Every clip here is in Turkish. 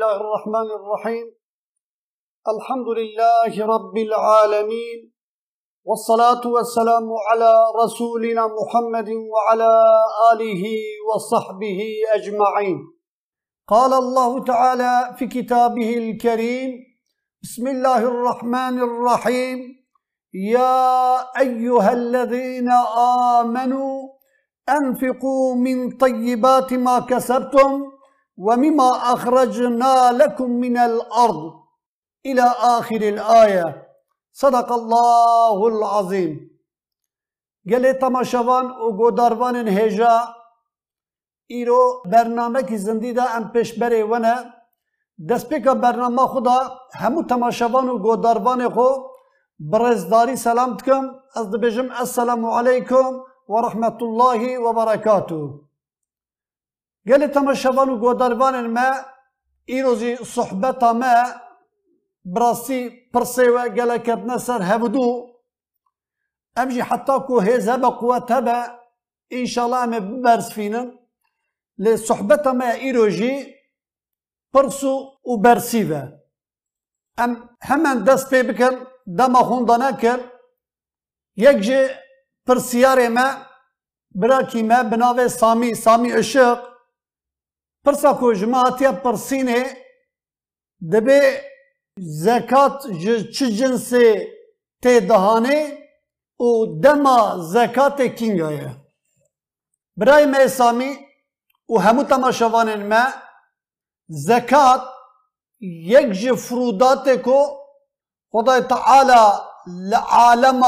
الله الرحمن الرحيم الحمد لله رب العالمين والصلاة والسلام على رسولنا محمد وعلى آله وصحبه أجمعين. قال الله تعالى في كتابه الكريم: بسم الله الرحمن الرحيم. يا أيها الذين آمنوا أنفقوا من طيبات ما كسبتم ومما أخرجنا لكم من الأرض إلى آخر الآية. صدق الله العظيم. قال تماشوان و گوداروان هجا ایرو برنامه کی زندی دا ام پیش بره ونه دست پیکا برنامه خدا همو تماشوان و گوداروان خو برزداری سلام تکم از دبیجم السلام علیکم و رحمت الله و برکاته. قال تماشوان و گوداروان ما ایروزی صحبتا ما براسي برسيوة قال كبنا سر هبدو أمجي حتى كو هيز هبا قوات هبا إن شاء الله أم ببرز فينا لصحبتا ما إيروجي برسو وبرسيفة أم همان دست بي بكر دما خوندانا كر يكجي برسياري ما براكي ما بناوي سامي عشق برسا كو جماعتيا برسيني دبي زکات چه جنسی تی دهانه و دما زکات کینگایه برای ما سامی و همو تماشاوان ما زکات یک جفرودات کو خدای تعالی لعالم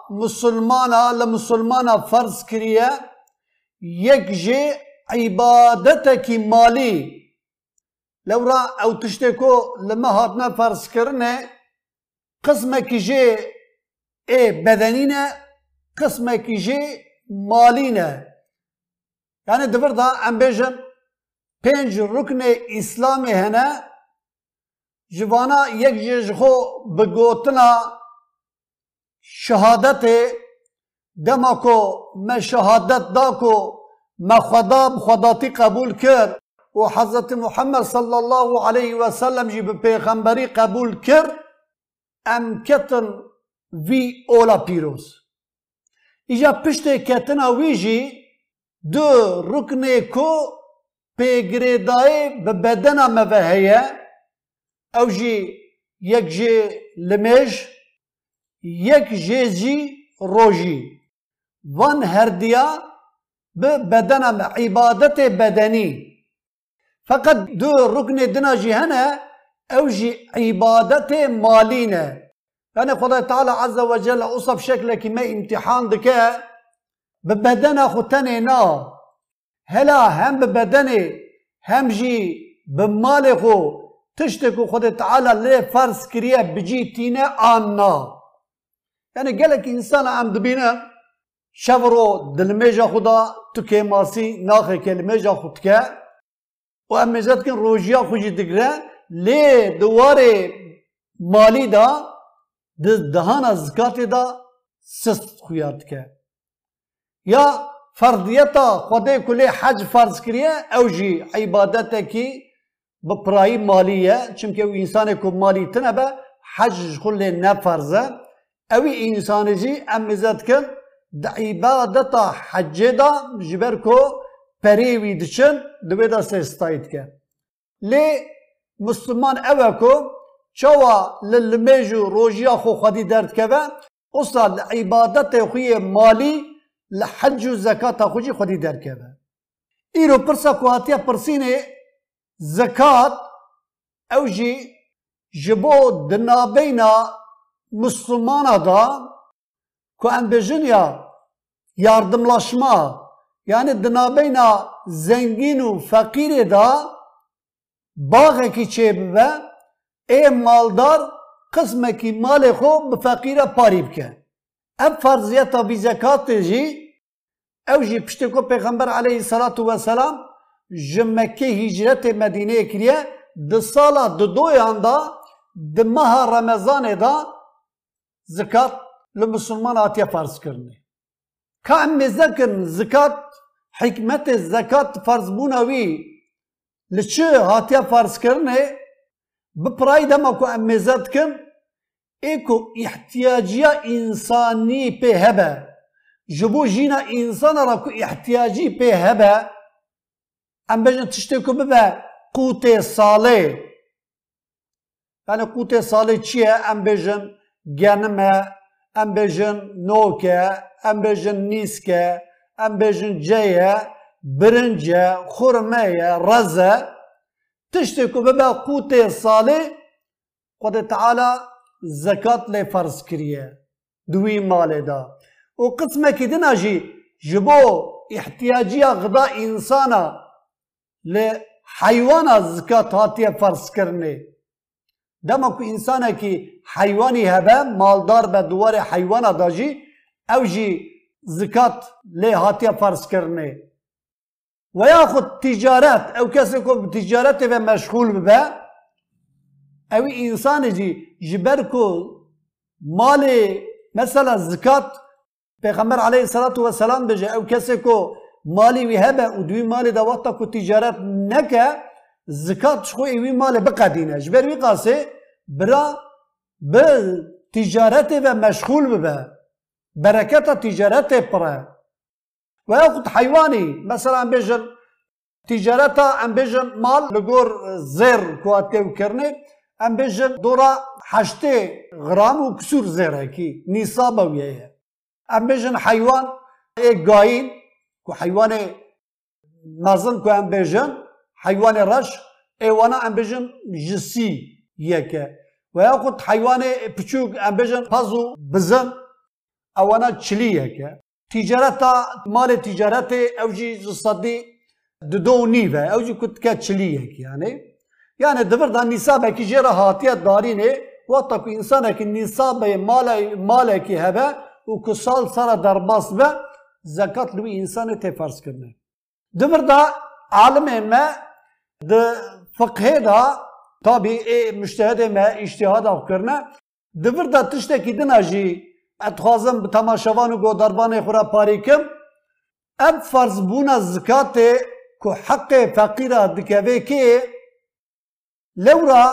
مسلمانا فرض کریه یک جه عبادت کی مالی لورا او تشتكو لما هاتنا فرض كرنا قسمك جي بدنينا قسمك جي مالينا يعني دبر دا ام بيجن پنج ركن اسلامي هنا جوانا يك جيجخو بگوتنا شهادت دماكو ما شهادت داكو ما خداتي قبول كر وحضرت محمد صلى الله عليه وسلم جيب پیغمبری قبول کر ام کتن وی اولا پیروز ایجا پشت کتنا ویجی دو رکنه کو پیگریدای به بدن موهیه او جی یک جی لمج یک جی روجی وان هردیا به بدن عبادت بدنی فقط دو ركن دناجي هنا اوجي عبادت مالينا يعني خدای تعالى عز وجل اصف شكلك ما امتحان دكا ببدنا ختني نا هلا هم ببدني هم جي بمالكو تشتكو خدای تعالى ليه فرض كريا بجي تينا آنا يعني قالك انسان عم دبينا شفرو دلميجا خدا تكي ماسي ناخي كلميجا خدكا و امیزد کن روژیا خوشی دگره لی دواره مالی دا دهان زکات دا سست خویاد که یا فردیتا خدا کلی حج فرض کریه او جی عبادتا کی بپرایی مالیه چونکه او انسان کو مالی تنبه حج کلی نفرزه اوی انسان جی امیزد کن دا عبادتا حج دا جبر کو پریوی دچن دوی دا سستایت که لی مسلمان اوه کو چوا للمیجو روژیا خو خودی درد که اصلا لعبادت خوی مالی لحج و زکات خوی خودی درد که ایرو پرسا کواتیا پرسینه زکات او جی جبو دنابینا مسلمان دا که ام بجنیا یاردملاشما يعني دنابينا زنگين و فقير دا باغه کی چه ببه اي مالدار قسمه کی مال خو بفقيره پاری بکه اب فرضيتا بي زكاة جي او جي پشتكو پیغمبر عليه الصلاة والسلام جمكه هجرت مدينه كريه د سالا د دویان دا د ماه رمضان دا زكاة لمسلمان آتیا فرض کرنه که ام ذکر زکات حکمت زکات فرض بوناوی لچه هاتیا فرض کرنه بپرای دما کو امزد کن ایکو احتیاجیا انسانی په هبه جبو جینا انسان را کو احتیاجی په هبه ام بجن تشتی کو ببه قوت ساله yani قوت ساله چیه ام بجن گنمه ام بجن نوکه ام بجن نیسکه ام بجن جیه برنجه خورمه رزه تشتی کو ببه قوت ساله خود تعالی زکات لی فرض کریه دوی مال دا و قسمه که دینا جی جبو احتیاجی غدا انسانا لی حیوانا زکات هاتیه فرض کرنه دما که انسانا که حیوانی هبه مالدار به دوار حیوانا دا جی او جی زکات لی هاتیه فرض کرنه و یا خود تجارت او کسی که تجارت و مشغول ببه اوی انسان جی جبر کو مال مثلا زکات پیغمبر علیه السلام بجه او کسی کو مالی وی هبه و دوی مال دا وقتا کو تجارت نکه زکات شخو اوی مال بقدینه جبر وی قاسه برا به تجارت و مشغول ببه برکت تجارت پره و یا خود حیوانی مثلا بجن تجارت ام بجن مال لگور زر کواتیو کرنه ام بجن دورا 8 غرام و کسور زره کی نصاب ویه ام بجن حیوان گاین کو حیوان مازن کو ام بجن حیوان رش ایوانا ام بجن جسی یکه و یا خود حیوان پچوک ام بجن پازو بزن اوانا چلی یکه تجارت مال تجارت اوجی صدی دو نیوه اوجی کت که چلی یکی yani dıvırdan nisabı ki jera hatiyat darine vata ku insana ki nisabı mala ki hebe u kusal sara darbas ve zekat lu insanı tefarz kırne. Dıvırda alim me de fıkhe da tabi müştehide me iştihad kırne. Dıvırda tişteki dinaji etxazım bi tamaşavanı go darbanı xura parikim ev farz buna zekate ku hakkı fakira dikeve ki لورا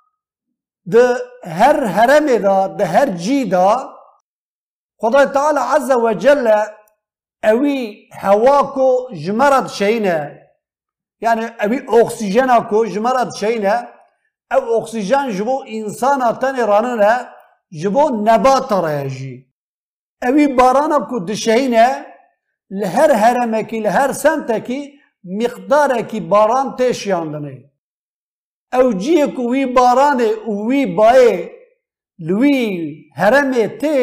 ده هر هرمه دا ده هر جی دا خدای تعالی عز و جل اوی هوا کو جمرد شینه yani اوی اکسیژن کو جمرد شینه او اکسیژن جبو انسان تنی راننه جبو نبات راجی اوی باران کو دشینه لهر هرمه کی لهر سنته کی مقدار کی باران تشیاندنه او جیه کو وی بارانه وی بایه لوی هرمه ته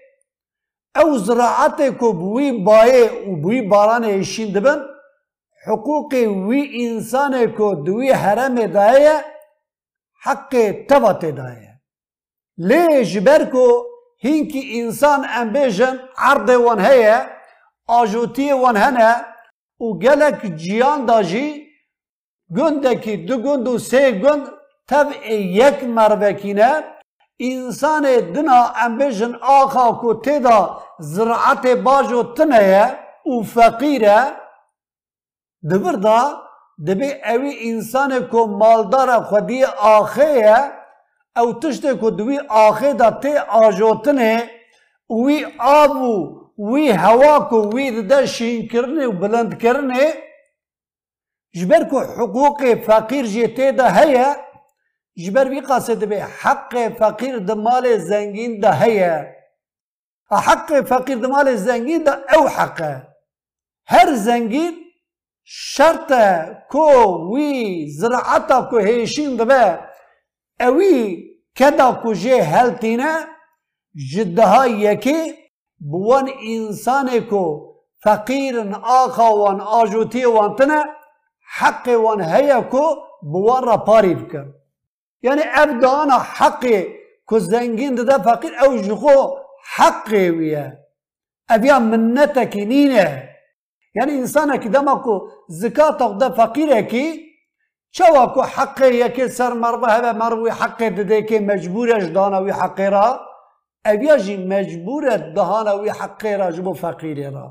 او زراعت کو بوی بایه و بوی بارانه ایشین دبن حقوق وی انسان کو دوی هرمه دایه حق تبات دایه لی جبر کو هینکی انسان انبیجن عرض وان هیه آجوتی وان هنه و گلک جیان داجی gündeki dü gündu se gün tabi yek mervekine insan dina embejin ağa ku teda ziraat bajo tneye u fakire dıvırda debi evi insan ku maldara xwedî axeye ew tiştê ku divî axê da tê ajotine wî ab û wî hewa ku wî dide şînkirinê û bilindkirinê جبر کو حقوق فقیر جیته ده هیا جبر وی قاصد به حق فقیر ده مال زنگین ده هیا حق فقیر ده مال زنگین ده او حقه هر زنگین شرط کو وی زراعت کو هیشین ده به اوی کدا کو جه هلتینه جدها یکی بوان انسان کو فقیرن آخا وان آجوتی وان تنه حق وان هيا کو بوان را پاری بکن یعنی ابدانا حق کو زنگین ده فقیر او جخو حق ویه ابیا منتك نینه یعنی انسان که دما کو زکات ده فقیره کی چوا کو حق یکی سر مربه هبه مروی حق ده که مجبورش دانوی حق را ابیا جی مجبورت دهانوی حق را جبو فقیره را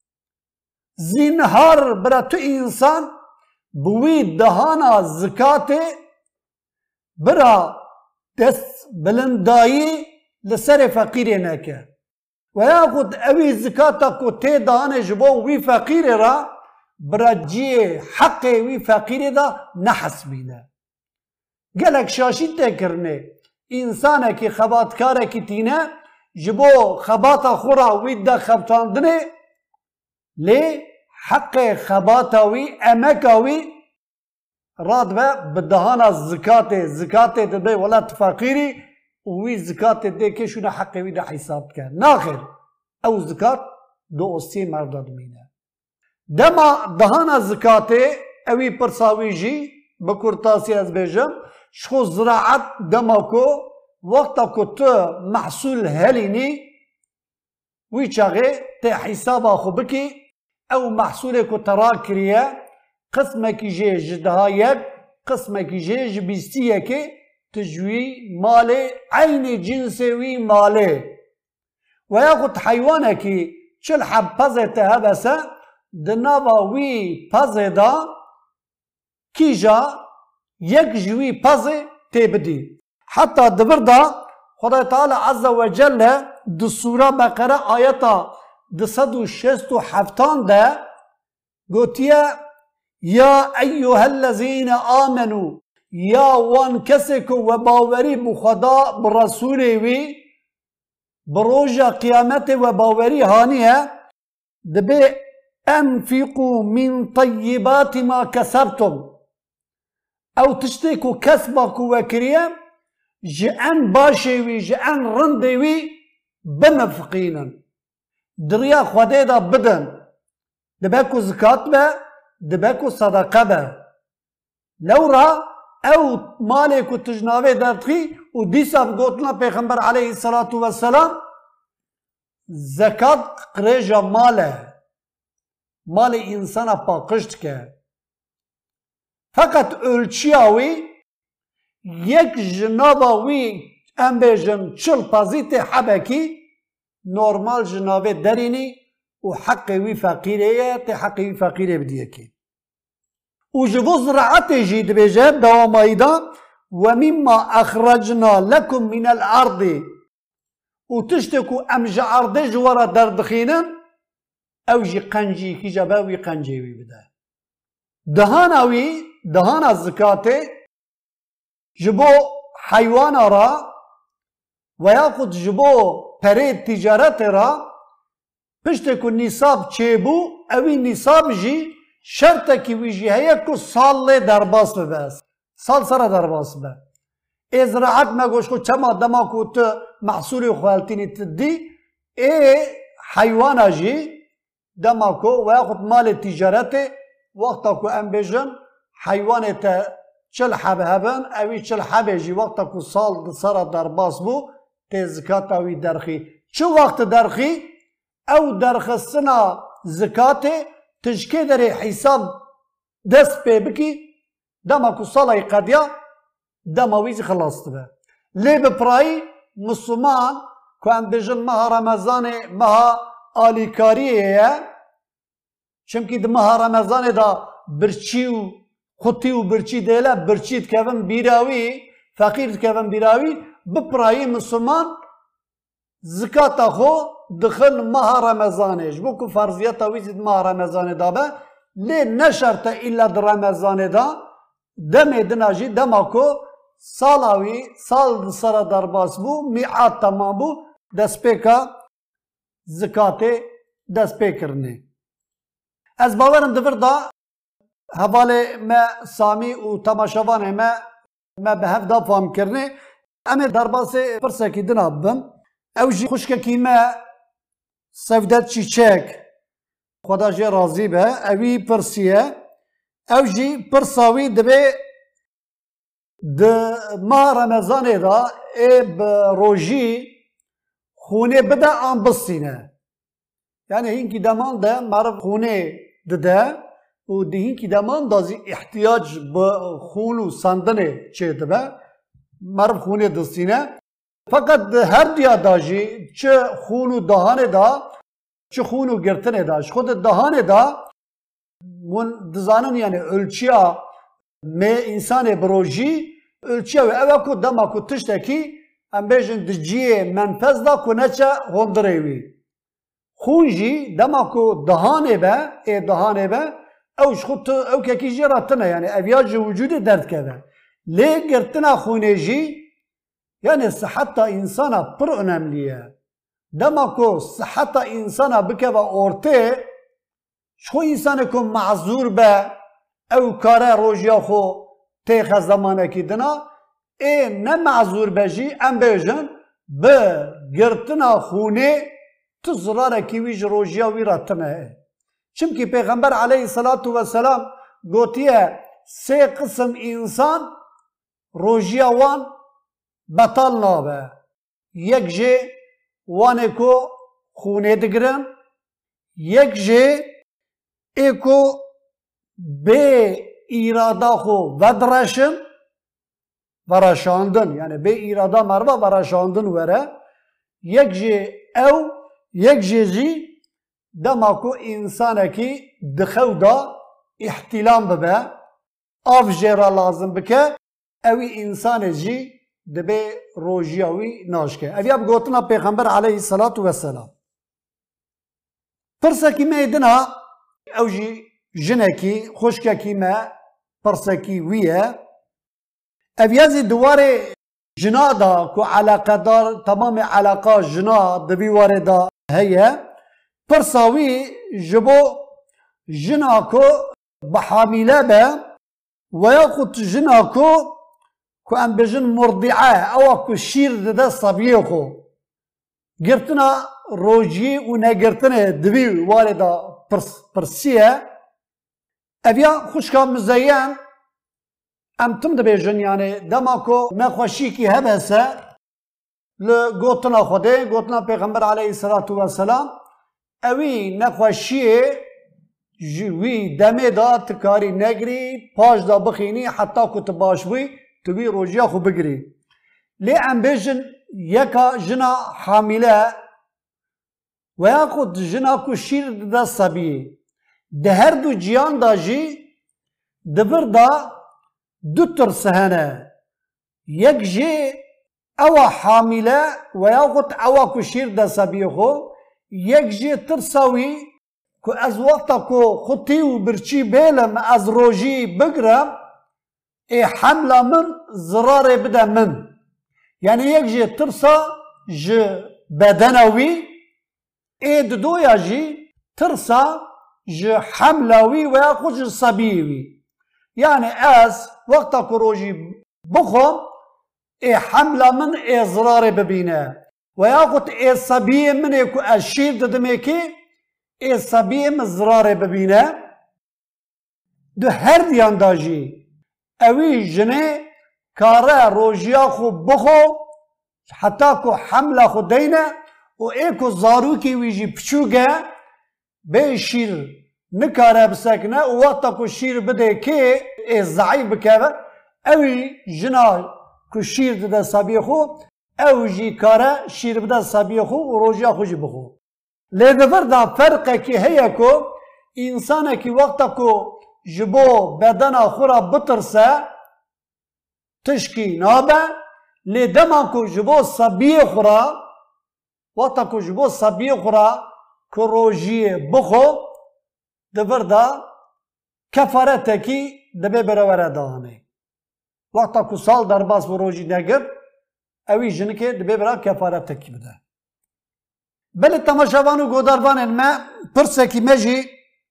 زینهار برا تو انسان بوی دهانا زکات برا دست بلندایی لسر فقیر نکه و یا خود اوی زکاتا کو تی دانه جبو وی فقیر را برا جی حق وی فقیر دا نحسبینه گلک شاشی تکرنه انسانه که خباتکاره که تینه جبو خباتا خورا وی دا خبتاندنه لی حق خباتاوی امکاوی راد به بدهانا زکات دبی ولات فقیری وی زکات ده که شونه حق وی ده حساب کرد ناخر او زکات دو اسی مرداد مینه دما دهانا زکات اوی پرساوی جی بکرتاسی از بیجم شخو زراعت دما کو وقتا کو تو محصول هلینی وی چاگه ته حساب آخو بکی او محصول کو ترا کریه قسمه کی جه جدها یک قسمه کی جه جبیستیه که تجوی مال عین جنسوی ماله و یا خود حیوانه که چل حب پزه تهبسه دنابا وی پزه دا کی جا یک جوی پزه تبدی حتی دبر دا خدای تعالی عز و جل دو سوره بقره آیتا 267 ده گوتیه یا ایها الذین آمنوا یا وان کسی که و باوری بخدا برسول وی بروژه قیامت و باوری هانیه دبی انفقوا من طیبات ما کسبتم او تشتی که کسبا که وکریه جعن باشی وی جعن رندی وی بنفقینن دریا خوده دا بدن دبی که زکات به دبی که صدقه به لورا او مالی که تجناوه دردخی و دیسا بگوتنا پیغمبر علیه الصلاة والسلام زکات قریجا ماله مال انسان پاکشت که فقط ölçüyavi یک جناباوی ام بیجم چل پازیت حبکی نورمال جنابه درینی و حق وی فقیره تی حق وی فقیره بدیه کی و جبو زراعت جید بیجه دوامایی دا و مما اخرجنا لکم من الارض و تشتکو ام جعرده جوارا دردخینن او جی قنجی کی جباوی قنجی وی بده دهاناوی دهان از زکاته جبو حیوان را و یا خود جبو پرید تجارت را پشت کو نصاب چه بو اوی نصاب جی شرط کی وی جی هیا کو سال در باس بس سال سره در باس به ازراعت مگوش کو چما دما کو تو محصول خالتینی تدی ای حیوان جی دما کو و یا خود مال تجارت وقتا کو ام بیجن حیوانت چل حبه هبن اوی چل حبه جی وقتا کو سال سره در باس بو تزکات اوی درخی چه وقت درخی او درخستنا زکات تشکی در حساب دست پی بکی دما کو سالای قدیا دما ویزی خلاصت به لی بپرایی مسلمان که ام بیجن ماه رمضان ماه آلیکاریه چونکی ده ماه رمضان دا برچی و خطی و برچی دیله برچیت کفن بیراوی فقیرت کفن بیراوی بپرایی مسلمان زکات خو دخل ماه رمضانش بو که فرضیت ویزید ماه رمضان دا به لی نشرط الا در رمضان دا دمی دناجی دما کو سالاوی سال سر در باس بو میعاد تمام بو دست پیکا زکات دست پیکرنه از باورم دفر دا حواله ما سامی و تماشاوان ما به هفته فهم کرنه اما در باس فرصه کی دناب بم او جی خوشکه کی ما سفدت چیچک خدا جی راضی به اوی پرسیه او جی پرساوی دبه د ما رمضان دا اب روجی خونه بده آن بسینه یعنی هینکی دمان ده معرف خونه ده و دهین کی دمان دازی احتیاج به خون و سندنه چه دبه معرف خونه دستینه فقط هر دیا داجی چه خون و دهانه دا چه خون و گرتنه داش خود دهانه دا من دزانن یعنی ölçüya me insan بروجی ölçü ve eve ku dema ku tişteki em bêjin di ciyê menfez da ku neçe hondirê wî. Xûn jî dema ku dihanê be, dihanê be, ew ji xwe ew kekî jê re tune yani ev ya ji vücudê derdkeve. Lê girtina xûnê jî yani siheta insana pir önemli ye. Dema ku siheta insana bikeve ortê, ji xwe însanê ku mazûr be, ew kare rojiya xwe têxe zemanekî dina, ne mazûr be jî em bêjin bi girtina xûnê tu zirarekî wî ji rojiya wî re tune. Çimkî Pêxember aleyhissalatu vesselam gotiye sê qism însan rojiya wan betal nabe. Yek jê wanê ku xûnê digirin, yek jê ê ku bê îrada xwe vedireşin, vereşandin yani bê îrada merve vereşandin were, yek jê ew, yek jê jî dema ku însanekî di xew da îhtilâm bibe, av jê re lazim bike, ew î însanê jî dibe rojiya wî naşke. Ev ya bi gotina Pêxember aleyhissalatu vesselam. Pirsekî me dina ew jî jinekî, xuşkekî me pirsekî wî ye. Ev ya zî di warê jina da ku alaqedar temamê alaqa jina di vî warê da heye, pirsa wî ji bo jina ku bi hamîle be veya xut jina ku em bêjin murdi'e, ewa ku şîr dide sebiyê xwe. Girtina rojiyê û negirtinê di vî warê da pirsiye. Ev ya xuşka müzeyyen em tim dibêjin yani dema ku nexweşîkî hebe se li gotina Xwedê, gotina Pêxember aleyhissalatu vesselam, evî nexweşiyê ji wî demê da tu karî negirî, paş da bixînî heta ku tu baş bûyî, tu wî rojiya xwe bigirî. Lê em bêjin yeka jina hamîle veya ku jina ku şîr dide sebiyê, di her du ciyan da jî di vir da du tirse hene. Yek jê ewa hamîle veya xut ewa ku şîr dide sebiyê xwe, yek jê tirsa wî ku ez wexta ku xutî û birçî bêlim ez rojî bigirim, hemla min zirarê bide min. Yani yek jê tirsa ji bedena wî, di doya jî tirsa ji hemla wî veya xwe ji sebiyê wî. Yani ez wexta ku rojî bixwim, hemla min zirarê bibîne. Veya xut sebiyê min ê ku ez şîr didimêkî, sebiyê min zirarê bibîne. Di her diyan da jî evî jinê kare rojiya xwe bixwe heta ku hemla xwe deyne û ku zarokê wî jî piçûk e, bê şîr nikare bisekine û wexta ku şîr bide kê zeyîf bikeve, evî jina ku şîr dide sebiyê xwe, ew jî kare şîr bide sebiyê xwe û rojiya xwe jî bixwe. Lê di vir da ferqekî heye ku însanekî wexta ku ji bo bedena xwe re bitirse tişkî nabe, lê dema ku ji bo sebiyê xwe re, wexta ku ji bo sebiyê xwe re ku rojiyê bixwe, di vir da kefaretekî dibe birewere danê. Wexta ku sal derbas bi rojî negir, evî jinikê dibe bira kefaretekî bide. Belê temaşevan û godarvanên me pirsekî me jî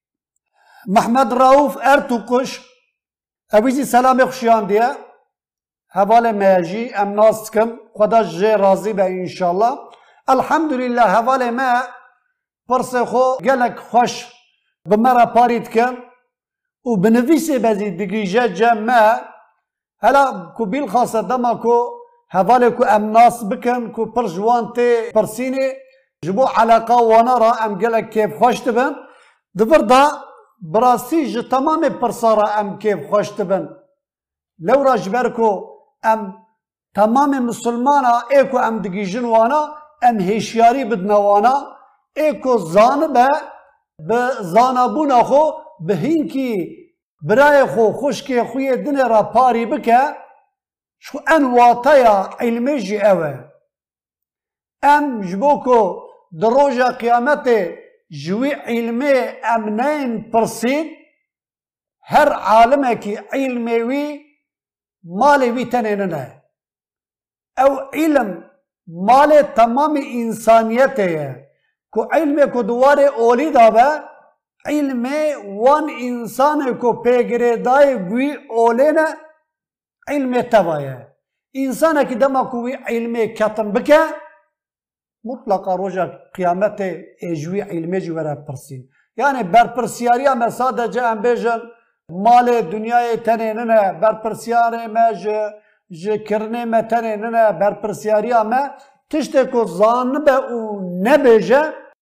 Mehmed Rauf Ertuğkuş evî jî selamê xuşiyandiye. Hevalê me jî em nas dikim, xweda ji jê razî be înşallah. Elhamdülillah hevalê me pirsê xwe gelek xweş bi me re parî dikin û bi nivîsê be jî digîje cem me, hela ku bîlxasa dema ku hevalê ku em nas bikin ku pir ji wan tê pirsînê, ji bo eleqa wana re em gelek kêfxweş dibin. Di vir da bi rastî ji temamê pirsa re em kêfxweş dibin. Lewra ji ber ku em temamê misilmana ku em digîjin wana, em hêşyarî bidine wana, ku zanibe bi zanabûna xwe bi hînkî birayê xwe, xuşkê xwe yê dinê re parî bike, شو ان واتايا علمي جي اوه ام جبوكو دروجا قيامته جوي علمي امنين برسين هر عالمكي علمي وي مالي وي تنيننا او علم مالي تمام انسانيته كو علمي كو دواري اولي دابا علمي وان انسان كو پیگره داي وي اولينا علمي تبايا انسان كي دما كوي علمي كاتن بكا مطلقا روجا قيامته اجوي علمي جوارا برسين يعني برپرسياريا ما صادجه ام بيجن مال دنيا تنيننا برپرسياري ما ج کرنه ما تنيننا برپرسياريا ما تشتكو ظانبه و نبيجه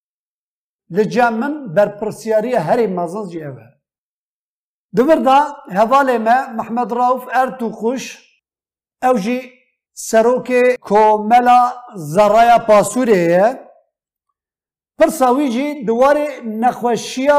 لجامن برپرسياريا هري مازن جي اوه دبر دا هوالي ما محمد راوف ارتوخوش او جي سروكي كوملا زرايا باسوريه پرساوی جی دواره نخوشیا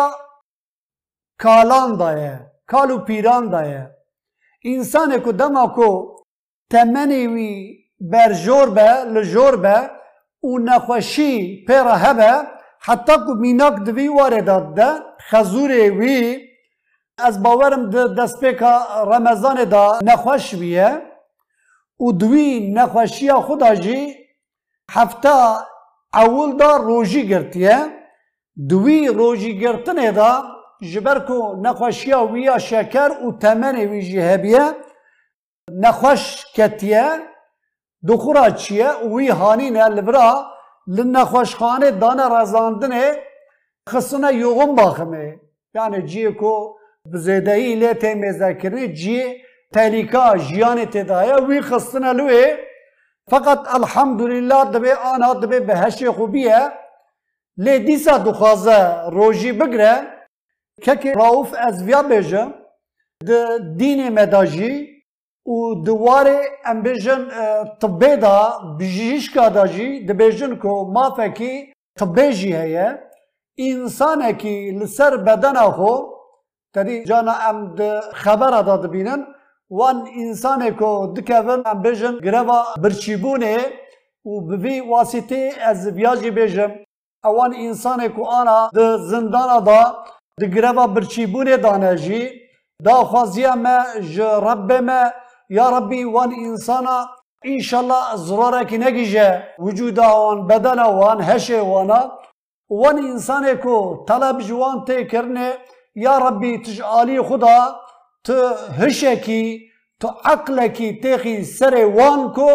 کالان دایه کالو پیران دایه انسان کو دما کو تمنی وی برجور به لجور به و نخوشی پیرا هبه حتی کو میناک دوی واردات ده خزوری وی از باورم دست پیکا رمضان دا نخوش بیه و دوی نخوشیا خدا جی هفته اول دا روژی گرتیه دوی روژی گرتنه دا جبر کو نخوشیا ویا شکر و تمنی وی جهبیه نخوش کتیه دخورا چیه وی هانینه لبرا لنخوش خانه دانه رزاندنه خصنا یوغم باخمه yani جیه کو بزیدهی لیته مذاکرنه جیه تلیکا جیان تدایه وی خصنا لوه فقط الحمدلله دبی آنها دبی به هشت خوبیه لی دیسا دخوازه روژی بگره که راوف از ویا بیجه ده دین مداجی و دواره ام بیجن طبی دا بجیشکا داجی ده بیجن که مافه کی طبی جی هیه انسانه کی لسر بدن خو تدی جانا ام ده خبر داد بینن وان انسانه کو دکون ام بیجن گروا برچیبونه و بوی واسطه از ویاجی بیجم اوان انسانه کو آنا ده زندان دا ده گروا برچیبونه دانجی دا خوازیه ما رب ما یا ربی وان انسانا انشالله ضراره کی نگیجه وجوده وان بدن وان هشه وانا وان انسانه کو طلب جوان تی کرنه یا ربی تجعالی خدا تو هشکی تو عقلکی تیخی سر وان کو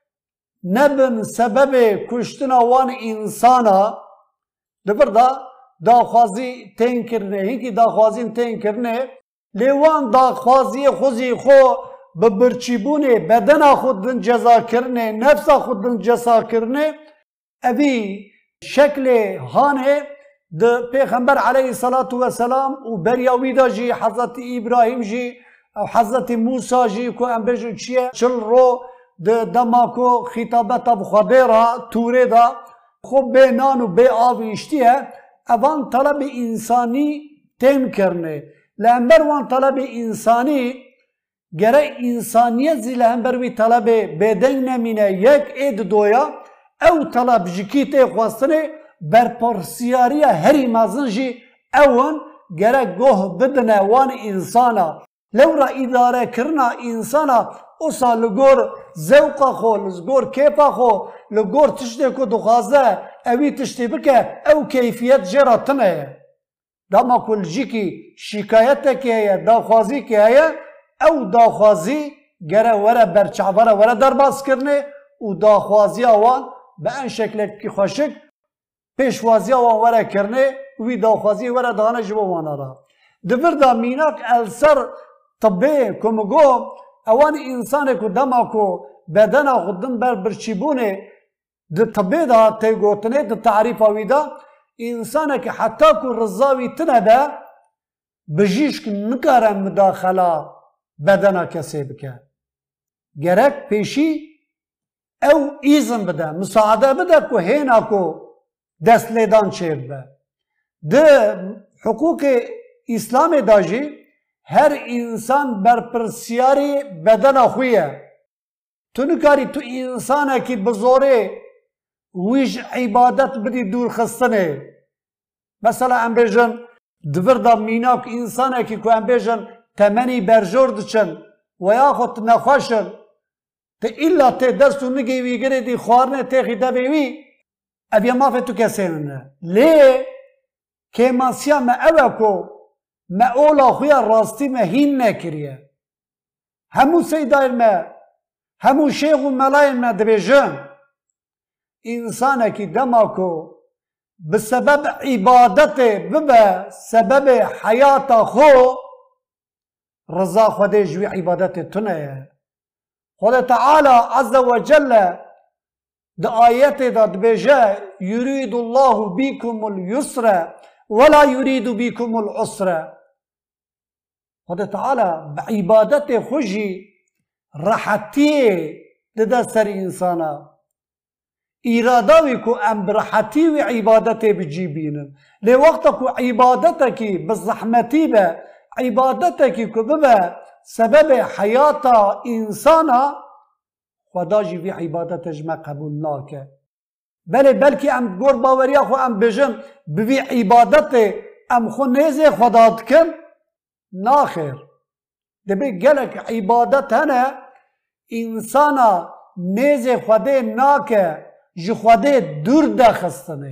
نبن سبب کشتنا وان انسانا دبر دا خوازی تین کرنه هیکی دا خوازین تین کرنه لیوان دا خوازی خوزی خو ببرچیبونه بدن خودن جزا کرنه نفس خودن جزا کرنه اوی شکل هانه ده پیغمبر علیه الصلاة والسلام و بریاوی دا جی حضرت ابراهیم جی او حضرت موسی جی کو ام بجو چیه چل رو ده دماکو خطابت بخوابه را توره دا خوب به نان و به آب اشتیه اوان طلب انسانی تیم کرنه لامبر وان طلب انسانی گره انسانیت زی لامبر وی طلب بدن نمینه یک اید دویا او طلب جکیت خواستنه برپرسیاری هری مازن جی اون گره گوه بدنه وان انسانا لورا اداره کرنا انسانا اوسا لگور زوقا خو لگور کیپا خو لگور تشتی کو دخوازه اوی تشتی بکه او کیفیت جراتنه داما کل جی کی شکایت که هیا داخوازی که هیا او داخوازی گره وره برچعبره وره درباز کرنه و داخوازی آوان به این شکل که خوشک پیشوازی آوان وره کرنه وی داخوازی وره دانه جبه وانا را دبر دا میناک السر طبه کمگو اوان انسان که دما که بدن خودن برچیبونه ده طبه دا تیگوتنه ده تعریف آوی دا انسان که حتی که رضاوی تنه ده بجیش که نکاره مداخله بدن کسی بکه گرک پیشی او ایزن بده مساعده بده که هینا که دست لیدان چید به ده حقوق اسلام داجی هر انسان برپرسیاری بدن خویه تو نکاری تو انسانه کی بزوره ویش عبادت بدی دور خستنه. مثلا ام بیجن دور دا میناک انسانه کی که ام بیجن تمنی برجور دچن و یا خود نخوشن تا ایلا تی دستو نگیوی گره دی خوارنه تیخی دویوی اویا مافه تو کسینه لی که ماسیا ما اوه کو ما اولا خویا راستی ما هین نکریه همو سیدایر ما همو شیخ و ملایر ما دبیجن انسانه کی دما کو بسبب عبادت ببه سبب حیات خو رضا خودی جوی عبادت تنه خدا تعالى عز وجل ده آيات ده بجا يريد الله بكم اليسر ولا يريد بكم العسر. خدا تعالى بعبادته خجي راحتي ده سر انسانا إرادوي كو ام برحتي وعبادته بجيبين لوقتك عبادتك بالزحمتي به عبادتك كو ببا سبب حیات انسانا خدا جی وی عبادتش ما قبول ناکه بلکه ام گور باوریا خو ام بجن بوی عبادت ام خو نیزه خدا دکن ناخر دبی گلک عبادت هنه انسانا نیزه خدا ناکه جی خدا دور دخستنه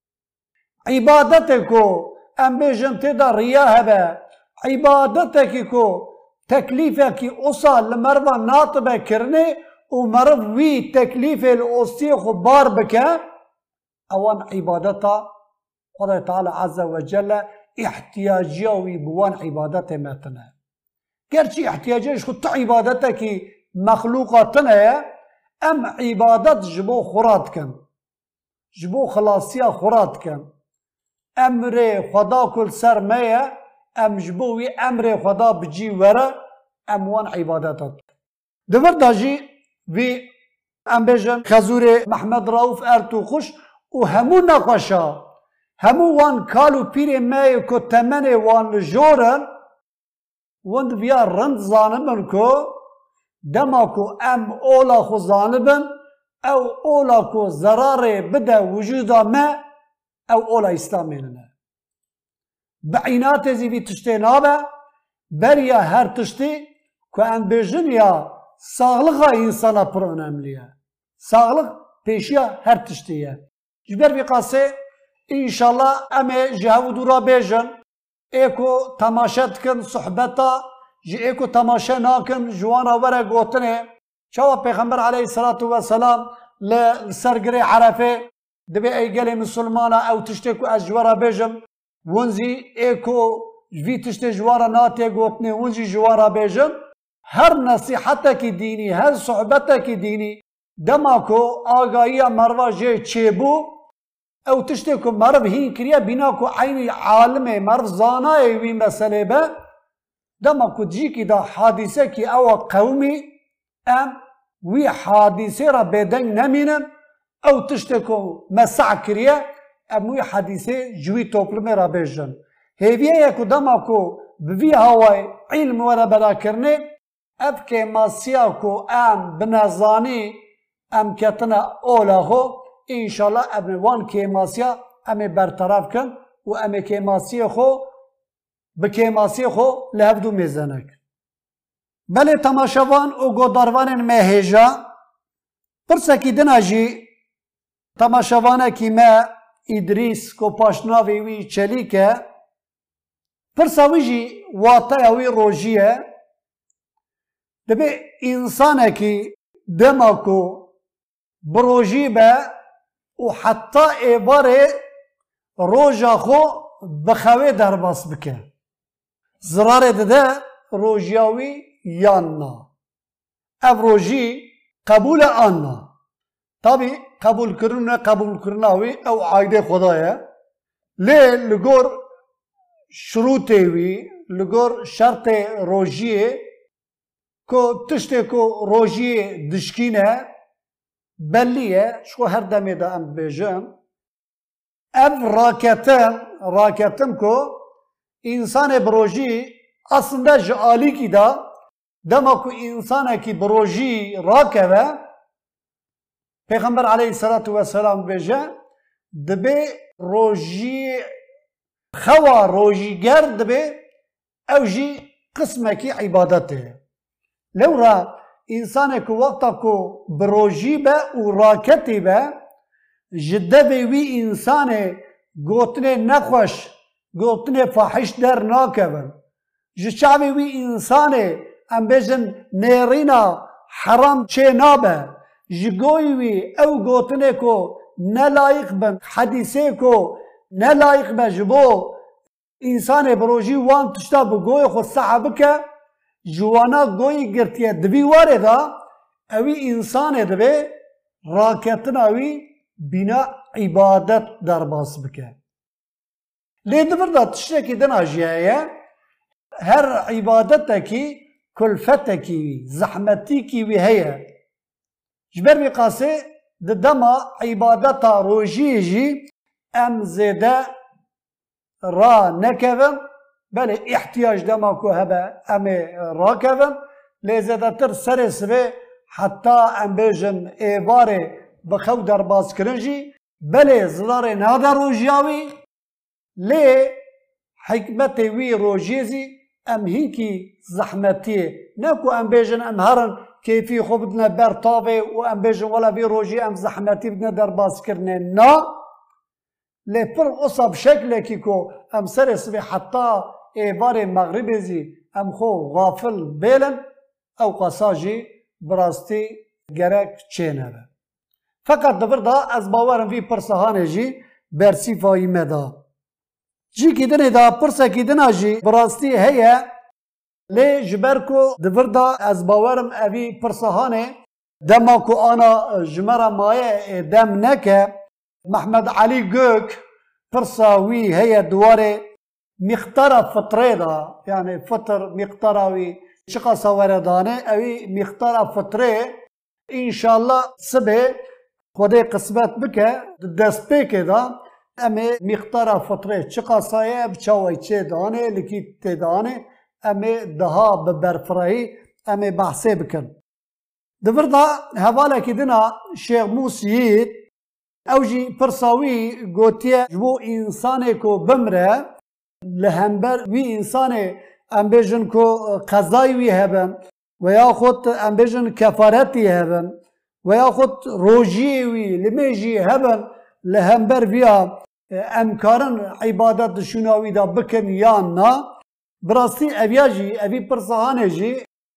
عبادت کو ام بجن تدا ریا هبه عبادت کو تکلیفه کی اوسا لمروا ناطبه کرنه و مرو وی تکلیف الاوستی خو بار بکه اوان عبادتا خدا تعالی عز وجل احتیاجیوی بوان عبادت متنه گرچه احتیاجیش خود تا عبادتا کی مخلوقاتنه ام عبادت جبو خوراد کن جبو خلاصیا خوراد کن امر خدا کل سر میه ام جبوی امر خدا بجی وره اموان عبادتات دور داجی وی ام بجن خزور محمد رؤوف ارتو خوش و همو نقاشا همو وان کالو پیر مای کو تمن وان جورن وند بیا رند زانبن کو دما کو ام اولا خو زانبن او اولا کو ضرار بده وجودا ما او اولا اسلامینه بعینات زیوی تشتی نابه بریا هر تشتی که ام بجن یا ساغلق انسانا پر önemliye. Sağlık peşiya her tiştiye. Jber bir kase inşallah ame cevudura bejin eko tamaşa tkın sohbeta eko tamaşa nakın jwana vere gotine çava peygamber aleyhissalatu vesselam le sergire arafe debe eygeli Müslümana ev tişte ku ez jwara bejim ونزی ایکو ویتشت جوارا ناتی گوتنی ونزی جوارا بیجن هر نصیحت کی دینی هر صحبت کی دینی دما کو آگاهی مروا جه چیبو او تشتی کو مرو هین کریا بینا کو عین عالم مرو زانا وی مسئله به دما کو جی کی دا حادثه کی او قومی ام وی حادثه را بدن نمینن او تشتی کو مسع کریا اموی حدیثه جوی توپلمه را بیجن هیویه یکو دما کو بوی هوای علم وره برا کرنه اف که ماسیا کو ام بنظانی ام کتنا اولا خو انشالله ام وان که ماسیا ام برطرف کن و ام که ماسیا خو بکه ماسیا خو لهفدو میزنک بله تماشاوان و گوداروان مهجا پرسکی دناجی تماشاوانه کی ما ادریس کو پاشناوی وی چلیکه پرساویجی واتا وی روجیه دبی انسانه کی دما کو بروجی به و حتی ایباره روجا خو بخوی درباس بکه زراره ده روجیاوی یاننا اف روجی قبول آننا طبی قبول کرناوی او عایده خدایه لی لگور شروطه وی لگور شرط روجیه که تشته که روجیه دشکینه بلیه شو هر دمی دا ام بیجن اف راکتم که انسان بروجی aslında jali ki da دما کو انسانه کی بروجی راکوه پیغمبر علیه الصلاة والسلام بجه دبه روجی خوا روجی گر دبه او جی قسمه کی عبادته لورا انسانه کو وقتا کو بروجی به و راکتی به جده به وی انسانه گوتنه نخوش گوتنه فاحش در ناکون جشعبی وی انسانه ام بجن نیرینا حرام چه نابه جگوی وی او گوتنه کو نلایق بن حدیثه کو نلایق بجبو انسان بروجی وان تشتا بگوی خود صحابه که جوانا گوی گرتیه دبی واره دا اوی انسان دبی راکتن اوی بنا عبادت در باس بکه لیده برده تشتکی دن آجیه هر عبادت کی کلفت کی وی زحمتی کی وی هیه جبر بی قاسه دما عبادت روجی جی ام زده را نکوم بله احتیاج دما کو هبه ام را کوم لیزده تر سرس به حتی ام بیجن ایواره بخو در باز کرنجی بله زدار نادر روجیاوی لی حکمت وی روجیزی ام هینکی زحمتیه نکو ام بیجن ام هرن کیفی خوب بدنا برطاوه و ام بیجن ولا بی روجی ام زحمتی بدنا در باز کرنه نا لی پر اصاب شکل کی کو ام سرس به حتی ایوار مغربی زی ام خو غافل بیلن او قصاجی براستی گرک چینه به فقط دبر دا از باورم وی پرسهانه جی برسی فایی مدا جی کی دنه دا پرسه کی دنه جی براستی هیه لی جبر کو دبر دا از باورم اوی پرسهانه دما کو آنا جمره مایه دم نکه محمد علی گوک پرساوی هیه دواره مقدار فطره دا يعني فطر مقداروي شقا سوردانه اوي مقدار فطره ان شاء الله سبه خدای قسمت بکه دست بکه دا اما مقدار فطره شقا سایه بچاوی چه دانه لکی تدانه اما دها ببرفرهی اما بحثه بکن دور دا حواله که دنا شیخ موسیید اوجی پرساوی گوتیه جو انسانه کو بمره لهمبر وی انسان ام بیجن کو قضای وی هبن و یا خود ام بیجن کفارتی هبن و یا خود روجی وی لمیجی هبن لهمبر ویا امکارن عبادت شناوی دا بکن یا نا براستی اویاجی اوی پرسهانه جی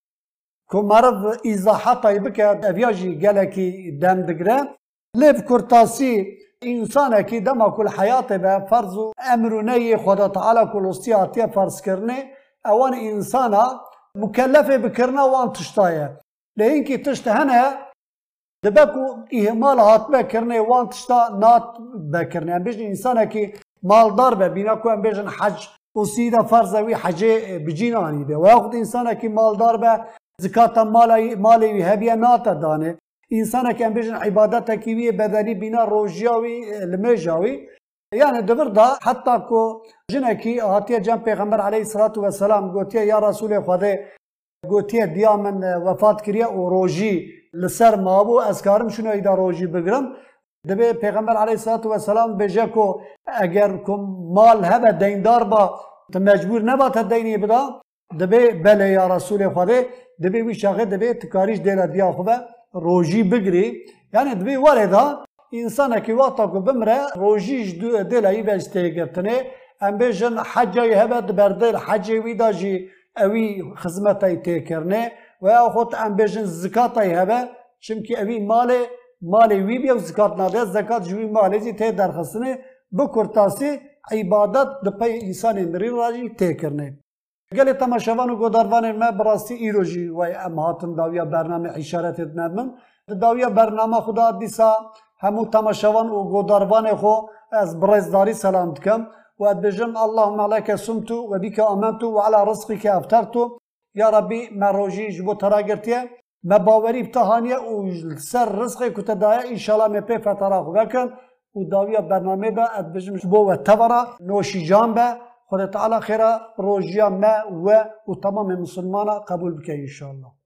که مرد ایزاحاتای بکد اویاجی گلکی دم دگره لیف کرتاسی انسان کی دما کل حیات به فرض و امر و نهی خدا تعالی کل استیاتی فرض کرنه اوان انسانا مکلف بکرنه وان تشتایه لین کی تشت هنه دبکو اهمال هات بکرنه وان تشتا نات بکرنه ام بیشن انسان کی مالدار به بینا کو ام بیشن حج وسیده فرض وی حج بجینانی ده و یاخد انسان کی مالدار به زکات مالی هبیه نات دانه انسان که بیشتر عبادت کیوی بدنی بینا روجیاوی لمجاوی یعنی دبر دا حتی کو جنکی آتیه جن پیغمبر علیه الصلاة والسلام گوتیه یا رسول خدا گوتیه دیا من وفات کریه و روجی لسر مابو از کارم شنو ایدا روجی بگرم دبی پیغمبر علیه الصلاة والسلام بجه کو اگر کم مال هبه دیندار با مجبور نبات دینی بدا دبی بله یا رسول خدا دبی وی شاخه دبی تکاریش دیل دیا خوبه روجی بگری یعنی دوی وارده انسان کی وقتا کو بمره روجیش دلایی بجته گرتنه ام بیشن حجی هبد بردل حجی ویداجی اوی خدمتای تکرنه و یا خود ام بیشن زکاتای هبه چونکی اوی مال وی بیا زکات ناده زکات جوی مالی زی ته درخستنه بکرتاسی عبادت دپای انسان مری راجی تکرنه گلی تماشاوان و گوداروان ما براستی ایروجی و ام هاتن داویا برنامه اشارت نمن داویا برنامه خدا دیسا همو تماشاوان و گوداروان خو از برزداری سلام دکم و ادبجم اللهم عليك سمت و بك امنت و على رزقك افطرت یا ربی ما روجی جبو تراگرتیه ما باوری بتهانیه و سر رزقی کتدایه انشالله می پی فتره خو بکن و داویا برنامه دا ادبجم جبو و تورا نوشی جان به خدا تعالی خیره روژیا ما و تمام مسلمانا قبول بکه انشاءالله.